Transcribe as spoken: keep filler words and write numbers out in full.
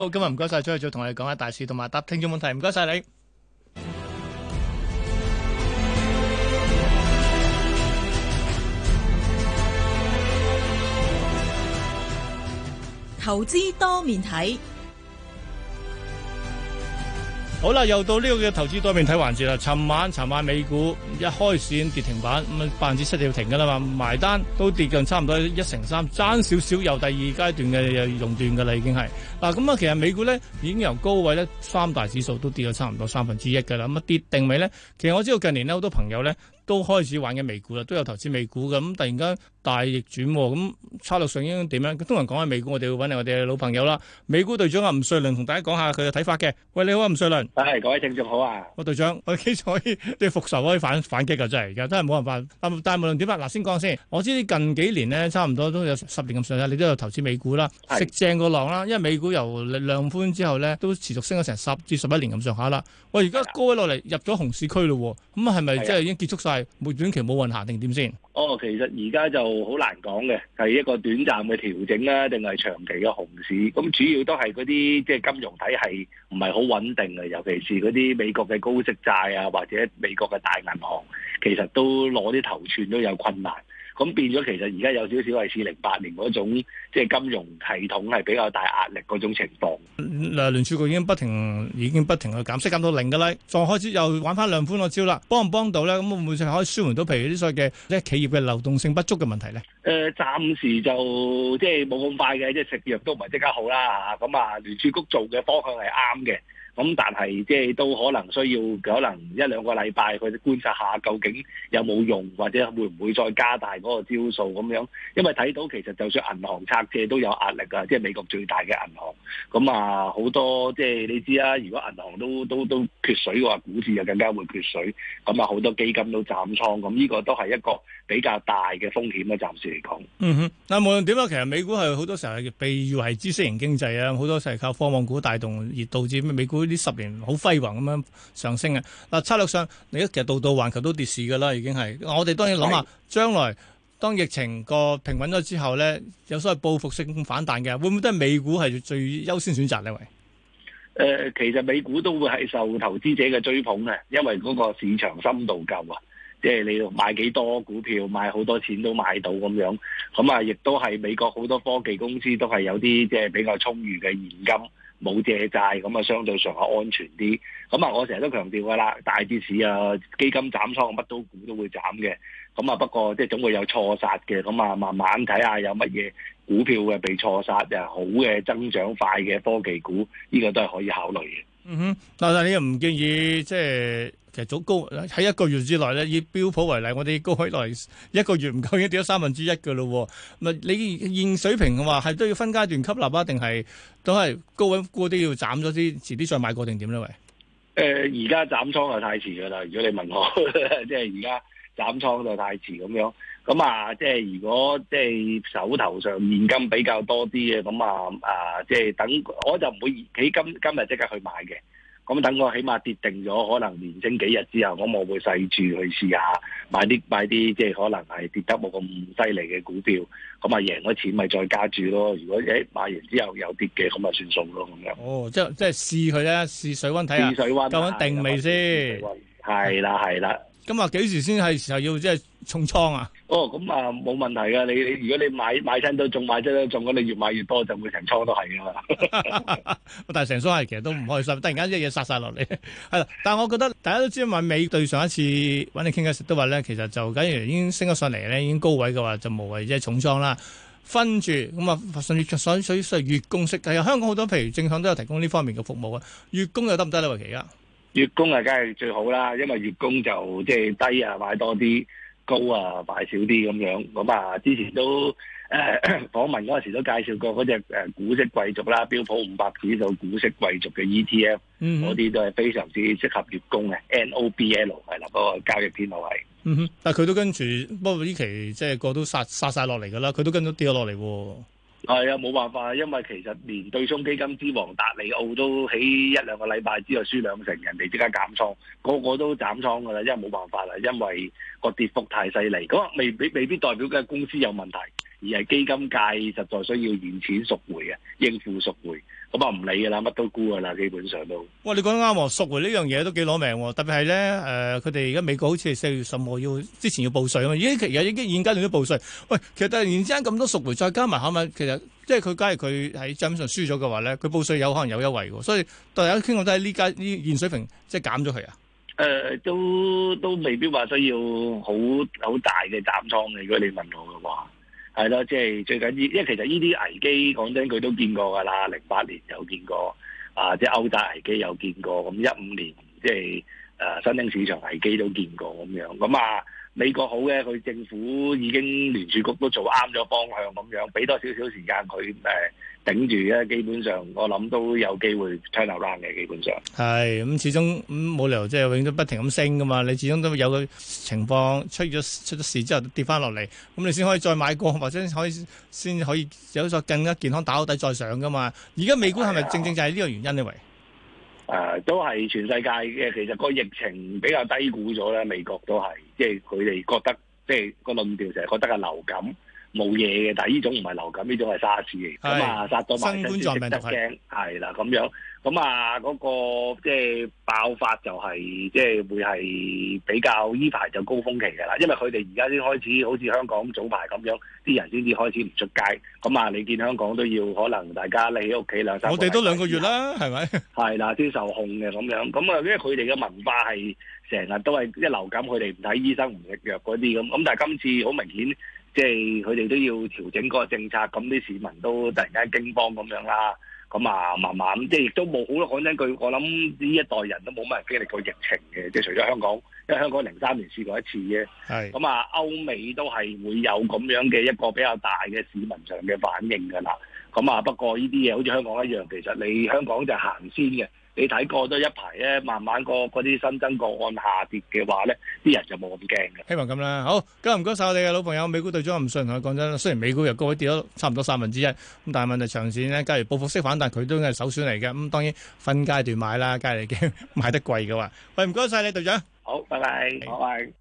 好，今日唔該晒，再再同我哋講下大市同埋答聽眾問題，唔該晒你。 投資多面睇。 好啦，又到呢個嘅投資多面睇環節啦。尋晚，尋晚美股一開市已經跌停板，咁啊百分之七就要停噶啦嘛，埋單都跌近差唔多一成三，爭少少由第二階段嘅熔斷噶啦，已經係嗱咁啊。其實美股咧已經由高位咧三大指數都跌咗差唔多三分之一噶啦，咁啊跌定未咧？其實我知道近年咧好多朋友咧都開始玩緊美股啦，都有投資美股嘅，咁突然間大逆轉，咁策略上應該點樣？通常講下美股，我哋會揾嚟我哋嘅老朋友啦，美股隊長阿吳瑞麟同大家講下佢嘅睇法嘅。喂，你好啊，吳瑞麟。 係，各位聽眾好啊！ 我隊長，我幾時可以即係復仇可以反反擊㗎？真係而家真係冇辦法。但但係無論點啦，嗱先講先。我知啲近幾年咧，差唔多都有十年咁上下，你都有投資美股啦，食正個浪啦。因為美股由量寬之後咧，都持續升咗成十至十一年咁上下啦。喂，而家高位落嚟入咗熊市區咯，咁啊係咪即係已經結束晒？冇短期冇運行定點先？ 哦，其實而家就好難講嘅，係一個短暫嘅調整啦，定係長期嘅熊市？咁主要都係嗰啲即係金融體系唔係好穩定嘅，尤其是嗰啲美國嘅高息債啊，或者美國嘅大銀行，其實都攞啲頭寸都有困難。咁變咗，其實而家有少少係似零八年嗰種，即係金融系統係比較大壓力嗰種情況。 嗱，聯儲局已經不停，已經不停去減息，減到零㗎啦，再開始又玩翻量寬個招啦，幫唔幫到咧？咁會唔會可以舒緩到譬如啲所謂嘅即係企業嘅流動性不足嘅問題咧？誒、 呃，暫時就即係冇咁快嘅，即係食藥都唔係即刻好啦嚇。咁啊，聯儲局做嘅方向係啱嘅。咁但係即係都可能需要可能一兩個禮拜去觀察下究竟有冇用，或者會唔會再加大嗰個招數咁樣？因為睇到其實就算銀行拆借都有壓力啊，即係美國最大嘅銀行。咁啊好多即係你知啦，如果銀行都都都缺水嘅話，股市就更加會缺水。咁啊好多基金都斬倉，咁呢個都係一個比較大嘅風險啦。暫時嚟講， 嗯哼，嗱無論點啊，其實美股係好多時候係被譽為知識型經濟啊，好多時係靠科網股帶動而導致美股呢十年好輝煌咁樣上升嘅。嗱策略上，你其實度度環球都跌市㗎啦，已經係。我哋當然諗下將來當疫情個平穩咗之後咧，有所謂報復性反彈嘅，會唔會都係美股係最優先選擇呢？喂？ 誒、呃，其實美股都會係受投資者嘅追捧嘅，因為嗰個市場深度夠啊，即係你買幾多股票，買好多錢都買到咁樣。咁啊，亦都係美國好多科技公司都係有啲即係比較充裕嘅現金。冇借債咁啊，相對上係安全啲。咁啊，我成日都強調㗎啦，大跌市啊，基金斬倉，乜都股都會斬嘅。咁啊，不過即係總會有錯殺嘅。咁啊，慢慢睇下有乜嘢股票嘅被錯殺，又好嘅增長快嘅科技股，呢、這個都係可以考慮嘅。 嗯哼，但係你又唔建議即係其實早高喺一個月之內咧，以標普為例，我哋高位來一個月唔夠已經跌咗三分之一㗎咯。咪你現水平嘅話係都要分階段吸納啊，定係都係高位沽啲要斬咗啲，遲啲再買過定點咧？喂？ 誒，而家斬倉就太遲㗎啦。如果你問我，即係而家斬倉就太遲咁樣。咁啊，即係如果即係手頭上現金比較多啲嘅，咁啊啊，即係等我就唔會喺今今日即刻去買嘅。咁等我起碼跌定咗，可能連升幾日之後，咁我會細注去試下買啲買啲，即係可能係跌得冇咁犀利嘅股票。咁啊贏咗錢咪再加注咯。如果誒買完之後有跌嘅，咁啊算數咯咁樣。 哦，即係即係試佢咧，試水溫睇下， 試水溫， 究竟定未先？ 係啦係啦。 咁啊，幾時先係時候要即係重倉啊？ 哦，咁啊冇問題噶。你你如果你買買親都中，買親都中，咁你越買越多，就會成倉都係噶嘛。 但係成倉係其實都唔開心，突然間一嘢殺晒落嚟，係啦。但係我覺得大家都知道，買美對上一次揾你傾偈時都話咧，其實就假如已經升咗上嚟咧，已經高位嘅話，就無謂即係重倉啦。分住咁啊，甚至所所以所謂月供式，係香港好多譬如證券都有提供呢方面嘅服務啊。月供又得唔得咧？喂，其實月供啊，梗係最好啦，因為月供就即係低啊買多啲，高啊買少啲咁樣。咁啊，之前都誒、呃、訪問嗰陣時都介紹過嗰隻誒股息貴族啦，標普五百指數股息貴族嘅 E T F，嗰啲、嗯、都係非常之適合月供嘅 N O B L 係啦，嗰個交易編號係。 嗯哼，但係佢都跟住，不過呢期即係個都殺殺曬落嚟㗎啦，佢都跟咗跌咗落嚟喎。 係啊，冇辦法，因為其實連對沖基金之王達利奧都喺一兩個禮拜之後輸兩成，人哋即刻減倉，個個都斬倉㗎啦，因為冇辦法啦，因為個跌幅太犀利。咁未未未必代表嘅公司有問題，而係基金界實在需要現錢贖回嘅，應付贖回。 咁啊唔理㗎啦，乜都沽㗎啦，基本上都。 哇！你講得啱喎，贖回呢樣嘢都幾攞命喎，特別係咧誒，佢哋而家美國好似係四月十號要之前要報稅啊嘛，已經其實已經現階段都報稅。喂，其實突然之間咁多贖回，再加埋係咪其實即係佢假如佢喺帳面上輸咗嘅話咧，佢報稅有可能有優惠喎，所以大家傾講都係呢家呢現水平即係減咗佢啊。 誒、呃、都都未必話需要好好大嘅斬倉嘅，如果你問我嘅話，係咯，即係最緊要，因為其實呢啲危機講真佢都見過㗎啦，零八年有見過，啊即係歐債危機有見過，咁一五年即係誒新興市場危機都見過咁樣，咁啊美國好嘅，佢政府已經聯儲局都做啱咗方向咁樣，俾多少少時間佢誒。頂住咧，基本上我諗都有機會 turn around嘅，基本上係咁、嗯，始終咁冇、嗯、理由即係永遠都不停咁升噶嘛。你始終都有個情況出咗出咗事之後跌翻落嚟，咁你先可以再買過，或者可以先可以有咗更加健康打好底再上噶嘛。而家美股係咪正正就係呢個原因呢？喂， 誒都係全世界嘅，其實個疫情比較低估咗咧，美國都係即係佢哋覺得即係個論調就係覺得係流感。冇嘢嘅，但係呢種唔係流感，呢種係沙士嚟，咁啊殺到埋身先識得驚，係啦咁樣，咁啊嗰個即係爆發就係即係會係比較依排就高峰期㗎啦，因為佢哋而家先開始好似香港早排咁樣，啲人先至開始唔出街，咁啊你見香港都要可能大家你喺屋企兩三個， 我哋都兩個月啦，係咪？係啦，先受控嘅咁樣，咁啊因為佢哋嘅文化係成日都係一流感，佢哋唔睇醫生唔食藥嗰啲咁，咁但係今次好明顯。即係佢哋都要調整嗰個政策，咁啲市民都突然間驚慌咁樣啦，咁啊慢慢即係亦都冇好咯。講真句，我諗呢一代人都冇乜人經歷過疫情嘅，即係除咗香港，因為香港零三年試過一次啫。係咁啊，歐美都係會有咁樣嘅一個比較大嘅市民上嘅反應㗎啦。咁啊，不過呢啲嘢好似香港一樣，其實你香港就行先嘅。你睇過咗一排咧，慢慢個嗰啲新增個案下跌嘅話咧，啲人就冇咁驚嘅。 希望咁啦。好，今日唔該晒我哋嘅老朋友美股隊長吳信同佢講真，雖然美股又高位跌咗差唔多三分之一，咁但係問題長線咧，假如報復式反彈，佢都係首選嚟嘅。咁當然分階段買啦，假如你驚買得貴嘅話。喂，唔該晒你隊長。 好，拜拜，拜拜。